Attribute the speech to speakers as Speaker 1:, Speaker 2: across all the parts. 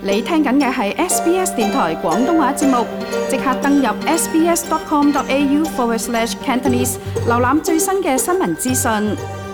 Speaker 1: 你聽緊嘅係 SBS 電台廣東話節目，即刻登入 sbs.com.au/Cantonese， 瀏覽最新嘅新聞資訊。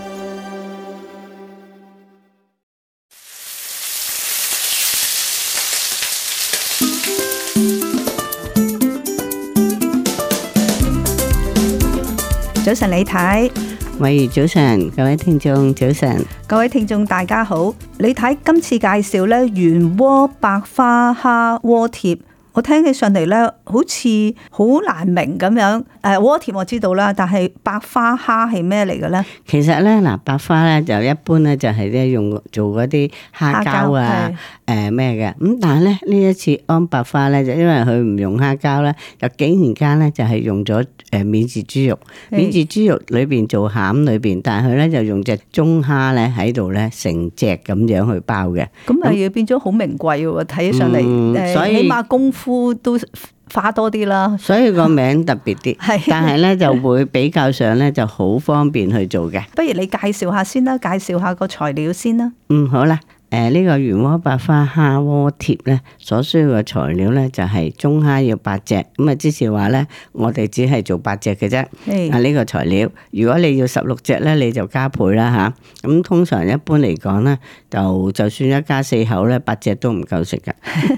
Speaker 2: 早晨，李太。
Speaker 3: 喂，早晨，各位聽眾，早晨，
Speaker 2: 各位聽眾大家好。李太今次介紹咧原鍋白花蝦鍋貼，我聽起上嚟咧好似好難明咁樣。鍋貼我知道啦，但係白花蝦係咩嚟嘅咧？
Speaker 3: 其實咧嗱，白花咧就一般咧就係咧用做嗰啲蝦膠啊，咩嘅。咁但係咧呢一次安白花咧就因為佢唔用蝦膠咧，就竟然間咧就係用咗免治豬肉，免治豬肉裏邊做餡裏邊，但係佢咧就用隻中蝦咧喺度咧成隻咁樣去包嘅。
Speaker 2: 咁咪變咗好名貴喎，睇起上嚟，
Speaker 3: 所以
Speaker 2: 起碼功夫都花多啲啦。
Speaker 3: 所以個名特別啲，但係咧就會比較上咧就好方便去做嘅。
Speaker 2: 不如你介紹下先啦，介紹下個材料先啦。
Speaker 3: 好啦。呢個原鍋白花蝦鍋貼咧，所需要嘅材料咧就係中蝦要8隻，咁啊之前話咧，我哋只係做8隻嘅啫。呢個材料，如果你要16隻咧，你就加倍啦吓。咁通常一般嚟講咧，就算一家4口咧，8隻都唔夠食噶。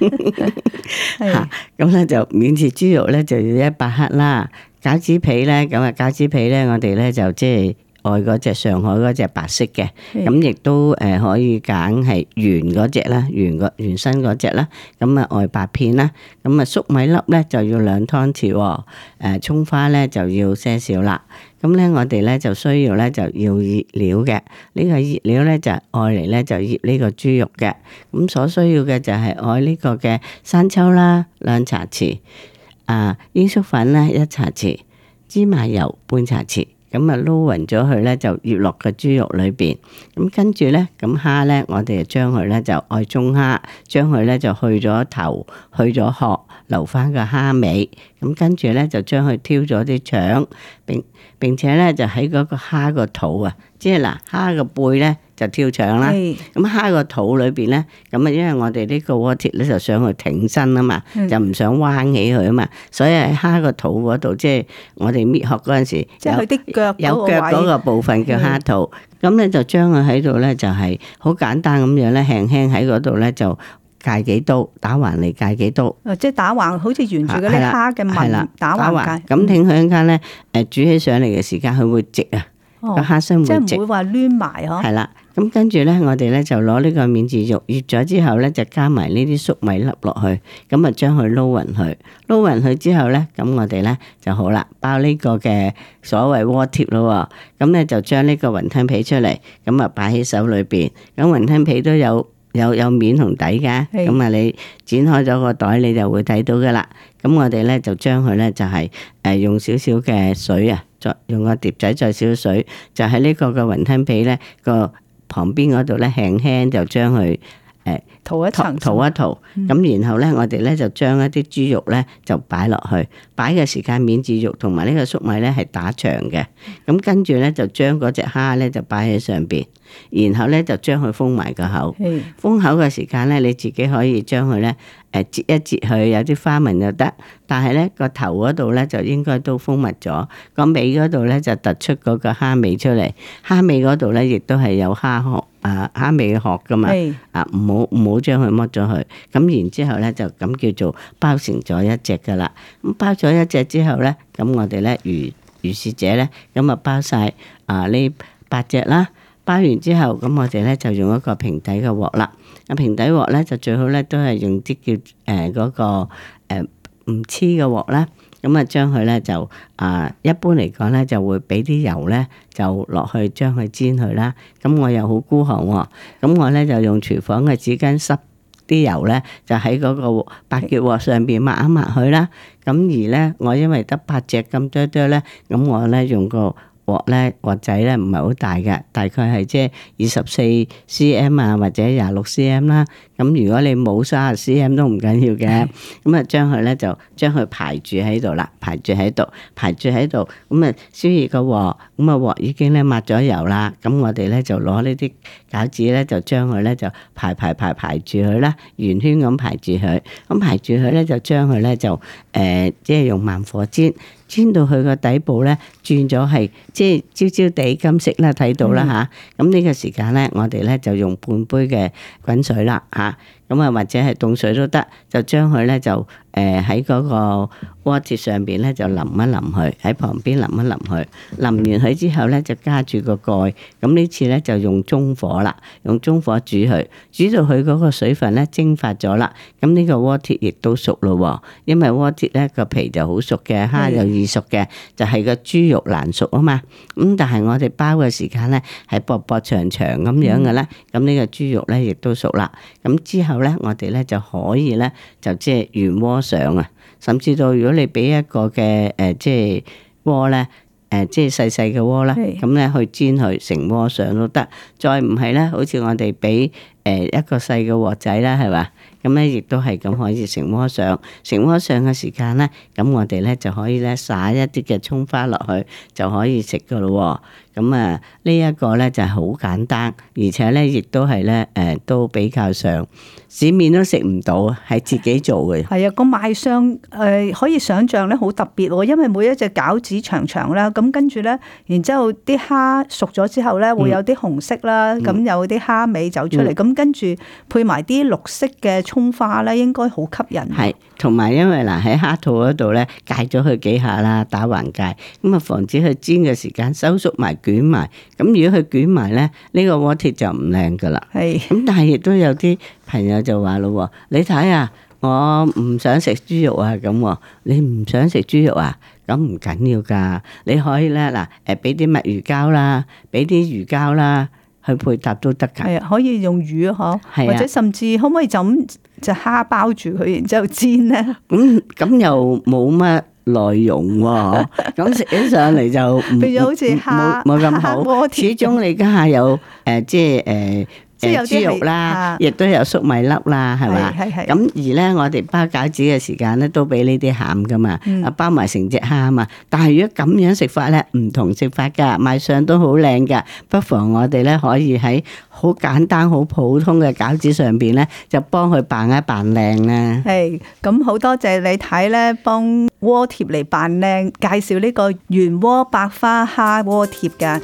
Speaker 3: 咁咧就免治豬肉咧就要100克啦，餃子皮咧咁啊餃子皮咧我哋咧就即係。愛嗰隻上海嗰隻白色嘅，咁亦都可以揀係圓嗰隻啦，圓身嗰隻啦，咁啊愛白片啦，咁啊粟米粒咧就要2湯匙，蔥花咧就要些少啦。咁咧我哋咧就需要咧就要熱料嘅，呢個熱料咧就愛嚟咧就醃呢個豬肉嘅，咁所需要嘅就係愛呢個嘅生抽啦2茶匙，鷹粟粉咧1茶匙，芝麻油半茶匙。咁啊撈勻咗佢咧，就醃落個豬肉裏邊。咁跟住咧，咁蝦咧，我哋就將佢咧就愛中蝦，將佢咧就去咗頭，去咗殼，留翻個蝦尾。咁跟住咧就將佢挑咗啲腸，並且咧就喺嗰個蝦個肚啊，即係嗱蝦個背咧就挑腸啦。咁蝦個肚裏邊咧，咁啊因為我哋呢個鍋貼咧就想去挺身啊嘛，就唔想彎起佢啊嘛，所以喺蝦個肚嗰度，即係我哋搣殼嗰陣時，
Speaker 2: 即係佢啲腳
Speaker 3: 有腳嗰個部分叫蝦肚，咁咧就將佢喺度咧就係好簡單咁樣咧，輕輕喺嗰度咧就界幾刀，打橫嚟界幾刀。
Speaker 2: 即係打橫，好似沿住嗰啲蝦嘅紋打橫界。
Speaker 3: 咁挺佢一間咧，煮起上嚟嘅時間佢會直啊，個蝦身會直。
Speaker 2: 即係唔會話攣埋嗬。
Speaker 3: 係啦，咁跟住咧，我哋咧就攞呢個免治肉醃咗之後咧，就加埋呢啲粟米粒落去，咁啊將佢撈勻佢，撈勻佢之後咧，咁我哋咧就好啦，包呢個嘅所謂鍋貼咯。咁咧就將呢個雲吞皮出嚟，咁啊擺喺手裏邊。咁雲吞皮都有面同底嘅，咁啊你剪開咗個袋，你就會睇到噶啦。咁我哋咧就將佢咧就係用少少嘅水啊，再用個碟仔再少少水，就喺呢個嘅雲吞皮咧個旁邊嗰度咧輕輕就將佢
Speaker 2: 塗一層，
Speaker 3: 塗一塗。咁然後咧我哋咧就將一啲豬肉咧就擺落去，擺嘅時間免治肉同埋呢個粟米咧係打長嘅。咁跟住咧就將嗰隻蝦咧就擺喺上邊，然後咧就將佢封埋個口。封口嘅時間咧，你自己可以將佢咧折一折佢，有啲花紋就得。但係咧個頭嗰度咧就應該都封密咗，個尾嗰度咧就突出嗰個蝦尾出嚟。蝦尾嗰度咧亦都係有蝦殼蝦尾嘅殼噶嘛。唔好將佢剝咗佢。咁然之後咧就咁叫做包成咗一隻噶啦。咁包咗一隻之後咧，咁我哋咧如是者咧，咁啊包晒呢8隻啦。包完之後，咁我哋咧就用一個平底嘅鑊啦。平底鑊咧就最好咧都係用啲叫嗰個唔黐嘅鑊啦。咁啊將佢咧就一般嚟講咧就會俾啲油咧就落去將佢煎佢啦。咁我又好孤寒喎，咁我咧就用廚房嘅紙巾濕啲油咧就喺嗰個白結鑊上邊抹一抹佢啦。咁而咧我因為得8隻咁多多咧，咁我咧用個鑊仔咧唔係好大嘅，大概係即係24cm或者26cm啦。 咁如果你冇30cm 都唔緊要嘅，咁啊將佢咧就將佢排住喺度啦，排住喺度，咁啊燒熱個鑊，咁啊鑊已經咧抹咗油啦，咁我哋咧就攞呢啲餃子咧就將佢咧就排住佢啦，圓圈咁排住佢，咁排住佢咧就將佢咧就即係用慢火煎到佢個底部咧轉咗係即係焦焦地金色啦，睇到啦吓。咁呢個時間咧，我哋咧就用半杯嘅滾水啦吓，咁啊或者係凍水都得，就將佢咧就喺嗰個鍋貼上邊咧就淋一淋佢，喺旁邊淋一淋佢，淋完佢之後咧就加住個蓋，咁呢次咧就用中火啦，用中火煮佢，煮到佢嗰個水分咧蒸發咗啦，咁呢個鍋貼亦都熟咯，因為鍋貼咧個皮就好熟嘅，蝦又易熟嘅，就係個豬肉難熟啊嘛，咁但係我哋包嘅時間咧係薄薄長長咁樣嘅咧，咁呢個豬肉咧亦都熟啦，咁之後咧我哋咧就可以咧就即係原鍋上啊，甚至到如果你俾一個嘅即係鍋咧。即係細細嘅鍋啦，咁咧去煎佢成鍋上都得。再唔係咧，好似我哋俾一個細嘅鑊仔啦，係嘛？咁咧亦都係咁可以成鍋上。成鍋上嘅時間咧，咁我哋咧就可以咧撒一啲嘅葱花落去，就可以食噶咯。咁啊，呢一個咧就係好簡單，而且咧亦都係咧都比較上市面都食唔到，係自己做嘅。
Speaker 2: 係啊，個賣相可以想像咧好特別喎，因為每一隻餃子長長啦，咁跟住咧，然之後啲蝦熟咗之後咧，會有啲紅色啦，咁有啲蝦尾走出嚟，咁跟住配埋啲綠色嘅葱花咧，應該好吸引。
Speaker 3: 係，同埋因為嗱喺蝦肚嗰度咧，戒咗佢幾下啦，打橫戒，咁啊防止佢煎嘅時間收縮埋捲埋。咁如果佢捲埋咧，呢個鍋貼就唔靚噶啦。係。咁但係亦都有啲朋友就話咯，你睇啊，我唔想食豬肉啊，咁你唔想食豬肉啊？咁唔緊要噶，你可以咧嗱，俾啲墨魚膠啦，俾啲魚膠啦，去配搭都得噶。
Speaker 2: 係啊，可以用魚嗬，或者甚至可唔可以就咁隻蝦包住佢，然之後煎咧？
Speaker 3: 咁又冇乜內容喎，咁食起上嚟就
Speaker 2: 變咗好似蝦
Speaker 3: 冇咁好。始終你家下有即係豬肉啦，亦都有粟米粒啦，係嘛？咁而咧，我哋包餃子嘅時間咧，都俾呢啲餡噶嘛，包埋成隻蝦啊嘛。但係如果咁樣食法咧，唔同食法噶，賣相都好靚噶。不妨我哋咧可以喺好簡單、好普通嘅餃子上邊咧，就幫佢扮一扮靚啦。
Speaker 2: 係，咁好多謝你睇咧，幫鍋貼嚟扮靚，介紹呢個原鍋百花蝦鍋貼噶。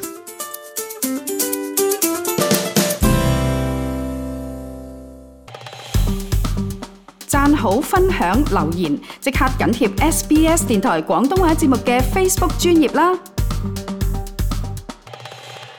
Speaker 1: 讚好、分享、留言，即刻緊貼SBS 電台廣東話節目嘅 Facebook 專頁啦！